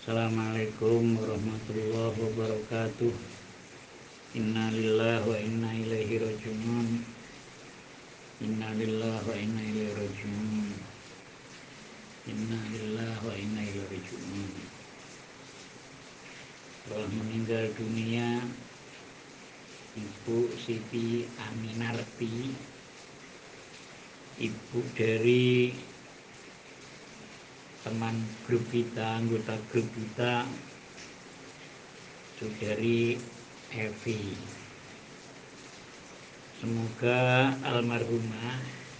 Assalamualaikum warahmatullahi wabarakatuh. Inna lillahi wa inna ilaihi raji'un. Inna lillahi wa inna ilaihi raji'un. Inna lillahi wa inna ilaihi raji'un. Telah meninggal dunia Ibu Siti Aminarti, ibu dari teman grup kita, anggota grup kita, Saudari Evi. Semoga almarhumah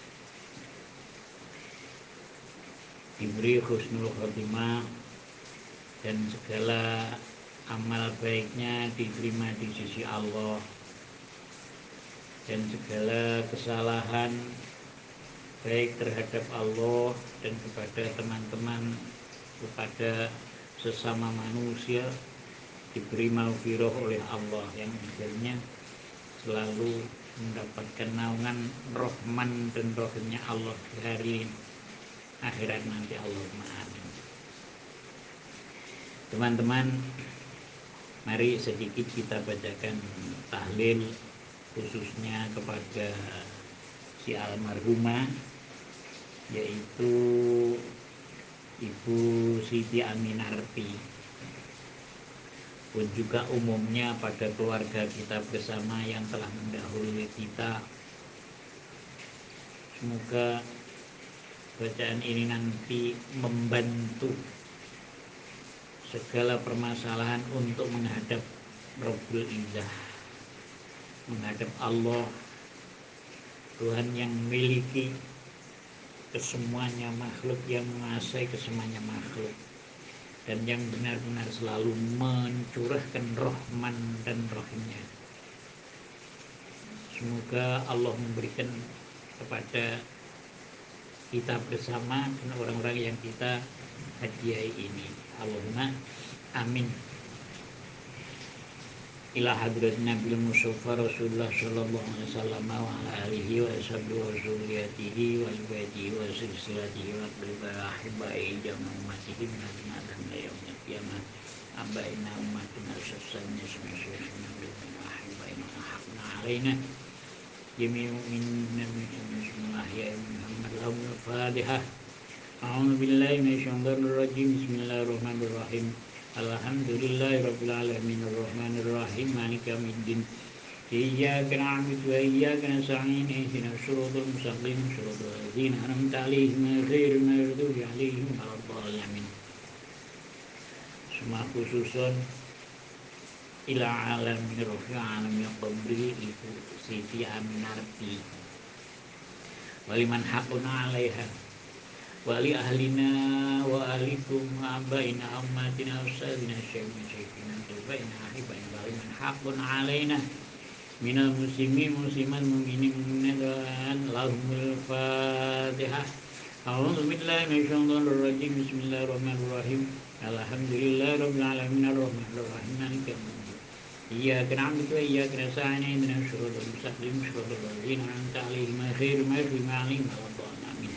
diberi husnul khotimah dan segala amal baiknya diterima di sisi Allah, dan segala kesalahan baik terhadap Allah dan kepada teman-teman, kepada sesama manusia diberi maghfirah oleh Allah, yang akhirnya selalu mendapatkan naungan rahman dan rahimnya Allah di hari akhirat nanti. Allahumma amin. Teman-teman, mari sedikit kita bacakan tahlil khususnya kepada si almarhumah, yaitu Ibu Siti Aminarti, pun juga umumnya pada keluarga kita bersama yang telah mendahului kita. Semoga bacaan ini nanti membantu segala permasalahan untuk menghadap Rabbul Izzah, menghadap Allah, Tuhan yang memiliki kesemuanya makhluk, yang menguasai kesemuanya makhluk, dan yang benar-benar selalu mencurahkan rahman dan rahimnya. Semoga Allah memberikan kepada kita bersama dan orang-orang yang kita hadiahi ini. Allahumma amin. Ila hadrat Nabi Mustafa Rasulullah sallallahu alaihi wasallam wa ala alihi wa sahbihi wa zurriyatihi wa ibadihi wa silsilatihi wa qibaihi jama'a ummatihi min adnan la yaumil qiyamah abaina ummatuna sasanya semasyaikhina bil ahibaina haqna alaina jami'u minna bismillah ya Muhammad lahumul fatihah. A'udzu billahi minasyaitonir rajim. Bismillahirrahmanirrahim. Alhamdulillahirabbil alamin arrahmanir rahim maliki yaumiddin. Iyyaka na'budu wa iyyaka nasta'in ihdinas siratal mustaqim siratal ladzina an'amta 'alaihim ghairil maghdubi 'alaihim waladdallin. Semua khususun ila alamin ruhi alamin qabri Ibu Siti Aminarti waliman haqquna 'alaiha wali ahlina wa alikum wa abaina ummatina ustazina syekhina tubaina ahibaina waliman haqqun alaina minal muslimin musliman mu'minin mu'minat lahumul fatihah. A'udzu billahi minasyaitonir rajim. Bismillahirrahmanirrahim. Alhamdulillahi rabbil alamin arrahmanir rahim maliki yaumiddin. Iyyaka na'budu wa iyyaka nasta'in ihdinas siratal mustaqim siratal ladzina an'amta 'alaihim ghairil maghdubi 'alaihim waladdallin.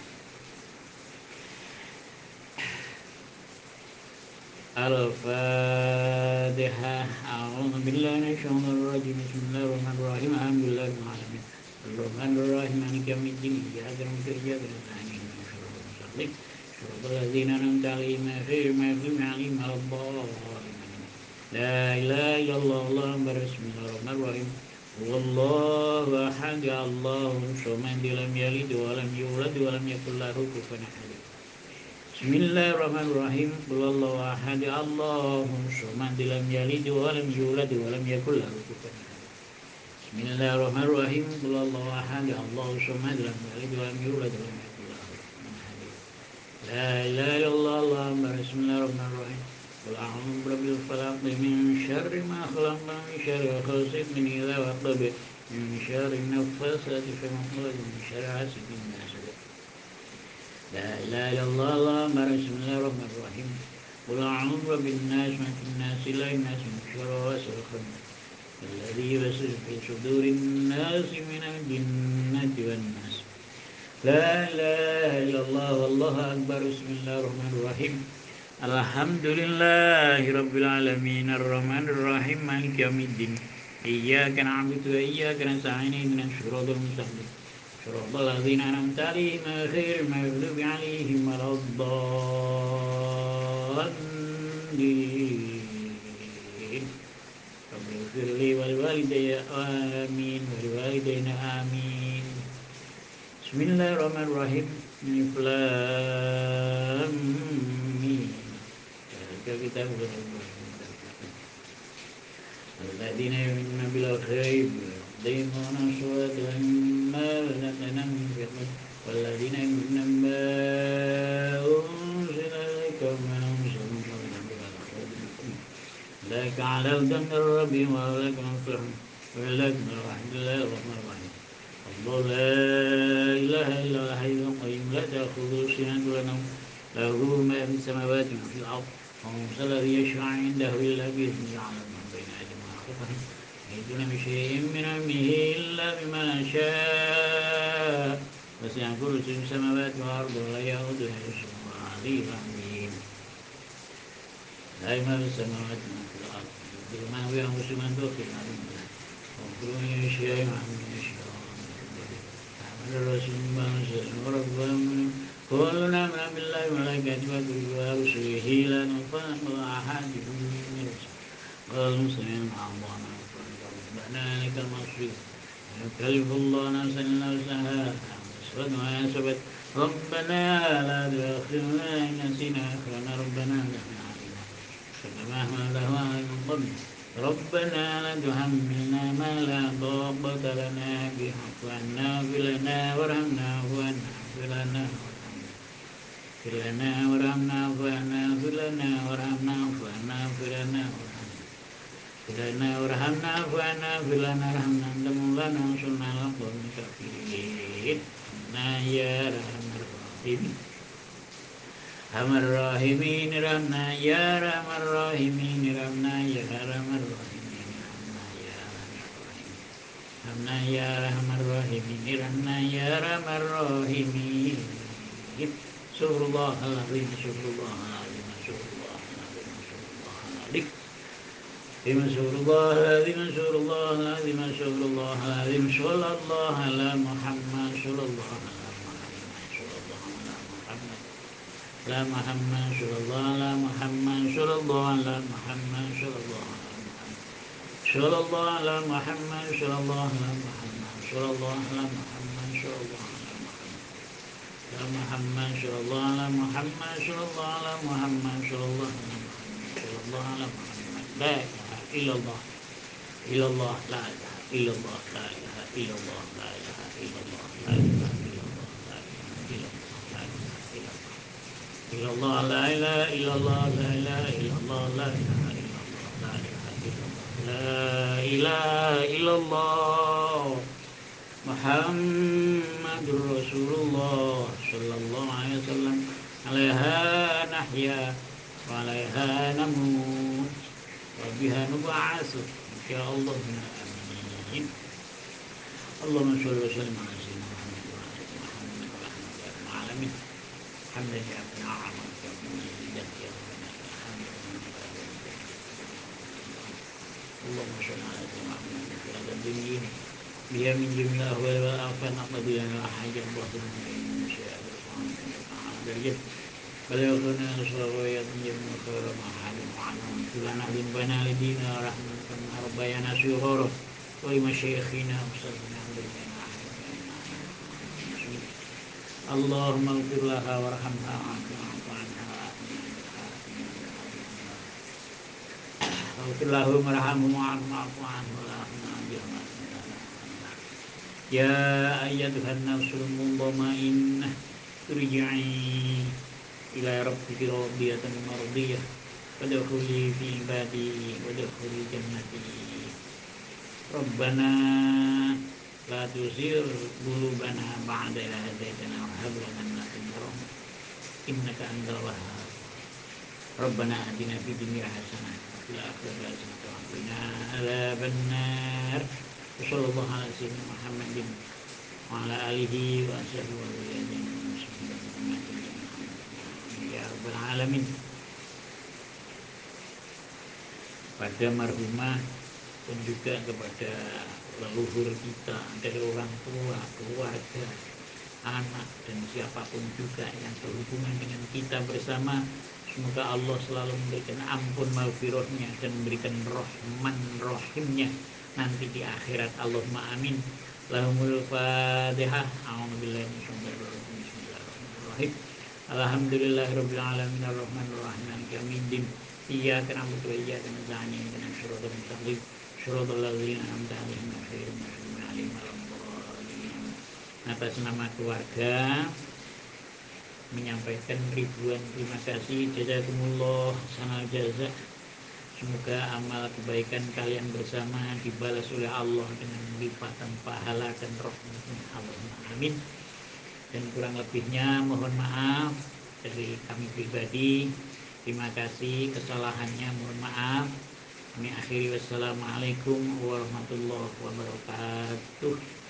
Al-Fatihah. A'udzu billahi minasyaitonir rajim. Bismillahirrahmanirrahim. Alhamdulillahirabbil alamin. Arrahmanir rahim maliki yaumiddin. Iyyaka na'budu wa iyyaka nasta'in ihdinas siratal mustaqim siratal ladzina an'amta 'alaihim ghairil maghdubi 'alaihim waladdallin. La ilaha illallah. Bismillahirrahmanirrahim. Wallahu ahad. Allahus samad. Lam yalid wa lam yulad wa lam yakul lahu kufuwan ahad. Bismillahirrahmanirrahim. Qulhuwallahu ahad. Allahus samad. Lam yalid wa lam yulad wa lam yakul lahu kufuwan ahad. Bismillahirrahmanirrahim. Qulhuwallahu ahad. Allahus samad. Lam yalid wa lam yulad wa lam yakul lahu kufuwan ahad. La ilaha illallah. Bismillahirrahmanirrahim. Qul a'udzu birabbil falaq min syarri ma khalaq min syarri ghasiqin idza waqab min syarri naffasati fil 'uqad min syarri hasidin idza hasad. La ilaha illallah. Bismillahirrahmanirrahim. Qul a'udzu birabbin nas malikin nas ilahin nas min syarri ghasiqin alladzi yuwaswisu fi sudurin nas minal jinnati wan nas. La ilaha illallah. Wallahu akbar. Bismillahirrahmanirrahim. Alhamdulillahi Rabbil Alamin Ar-Rahmanir Rahim Maliki Yawmiddin Iyyaka na'budu wa iyyaka nasta'in ihdinas siratal mustaqim siratal ladzina an'amta 'alaihim ghairil maghdubi 'alaihim waladdallin Rabbighfirli wa liwalidayya amin wa liwalidayna amin Bismillahirrahmanirrahim Alif Lam Mim kita الذين يؤمنون بالغيب يقيمون الصلاة ومما رزقناهم ينفقون والذين يؤمنون بما أنزل إليك وما أنزل من قبلك أولئك على هدى من ربهم وأولئك هم المفلحون وأولئك من رحمة الله الرحمن الرحيم الله لا إله إلا هو الحي القيوم لا تأخذه سنة ولا نوم له ما في السماوات وما في الأرض ومن ذا الذي يشفع عنده إلا بإذنه يعلم ما بين أيديهم وما خلفهم يحيطون بشيء من علمه إلا بما شاء وسع كرسيه السماوات والأرض ولا يئوده حفظهما العلي العظيم لا ما في السماوات وما في الأرض يقدر ما هو ينقص من توفيق علمه وكل من يشاء وعمل يشاء أحمد الرسول ما نزل وربهم كلنا آمن بالله وملائكته وكتبه ورسله لا نفرق بين أحد من رسله قالوا سمعنا وأطعنا غفرانك ربنا إليك المصير لا يكلف الله نفسا إلا وسعها كسبت ما كسبت ربنا لا تؤاخذنا إن نسينا أخرنا ربنا لا علينا كما حمله على من قبل ربنا لا تحملنا ما لا طاقة لنا به واعف عنا واغفر لنا وارحمنا واغفر لنا اغفر لنا وارحمنا واغفر لنا وارحمنا واغفر لنا اغفر لنا وارحمنا واغفر لنا وارحمنا أنت مولانا وانصرنا على القوم الكافرين يا أرحم الراحمين أرحم الراحمين ارحمنا يا أرحم الراحمين ارحمنا يا أرحم الراحمين ارحمنا يا أرحم الراحمين ارحمنا يا أرحم الراحمين سبحان الله العظيم سبحان الله العظيم سبحان الله العظيم سبحان الله العظيم سبحان الله العظيم سبحان الله العظيم صلى الله على محمد صلى الله على محمد صلى الله على محمد لا محمد صلى الله على محمد صلى الله على محمد صلى الله على محمد صلى الله على محمد صلى الله على محمد صلى الله على محمد صلى الله على محمد يا محمد صلى الله على محمد صلى الله على محمد صلى الله على محمد صلى الله على محمد لا إله إلا الله إلا الله لا إله إلا الله لا إله إلا الله لا إله إلا الله لا إله إلا الله لا إله إلا الله لا إله إلا الله إلا الله لا إله إلا الله لا إله إلا الله لا إله إلا الله لا إله إلا الله لا إله إلا الله محمد رسول الله صلى الله عليه وسلم عليها نحيا وعليها نموت وبها نبعث إن شاء الله آمين اللهم صل وسلم على سيدنا محمد وعلى آل محمد ورحمة الله العالمين الحمد لله رب العالمين اللهم صل على سيدنا محمد في هذا الدين بها من جميع الأهوال والآفات نقضي لنا حاجة باطل من شاء الله بلغنا نصر ويتم خير ما حلم عنهم كلنا ذنبنا لدينا رحمة كما ربينا صغارا ولمشايخنا وصلنا بنا اللهم اغفر لها وارحمها واعف عنها اغفر لهم وارحمهم واعف عنهم يا أيتها النفس المطمئنة ارجعي إلى ربك راضية مرضية فادخلي في عبادي وادخلي جنتي ربنا لا تزغ قلوبنا بعد إذ هديتنا وهب لنا من لدنك رحمة إنك أنت الوهاب ربنا آتنا في الدنيا حسنة وفي الآخرة حسنة وقنا عذاب النار وصلى الله على سيدنا محمد وعلى آله وصحبه وسلم يا رب العالمين pada marhumah dan juga kepada leluhur kita dari orang tua, keluarga, anak dan siapapun juga yang berhubungan dengan kita bersama. Semoga Allah selalu memberikan ampun maghfirahnya dan memberikan rahman rahimnya nanti di akhirat. Allahumma amin. Lahumul Fatihah. A'udzubillahi minasyaitonir rajim. Bismillahirrahmanirrahim. Alhamdulillahirabbil alamin arrahmanir rahim maliki yaumiddin. Iyyaka na'budu wa iyyaka nasta'in ihdinas siratal mustaqim siratal ladzina an'amta 'alaihim ghairil maghdubi 'alaihim waladdallin. Atas nama keluarga menyampaikan ribuan terima kasih, jazakumullah sanal jaza. Semoga amal kebaikan kalian bersama dibalas oleh Allah dengan lipatan pahala dan rahmatnya. Allahumma amin. Dan kurang lebihnya mohon maaf dari kami pribadi. Terima kasih, kesalahannya mohon maaf. Kami akhiri, wassalamualaikum warahmatullahi wabarakatuh.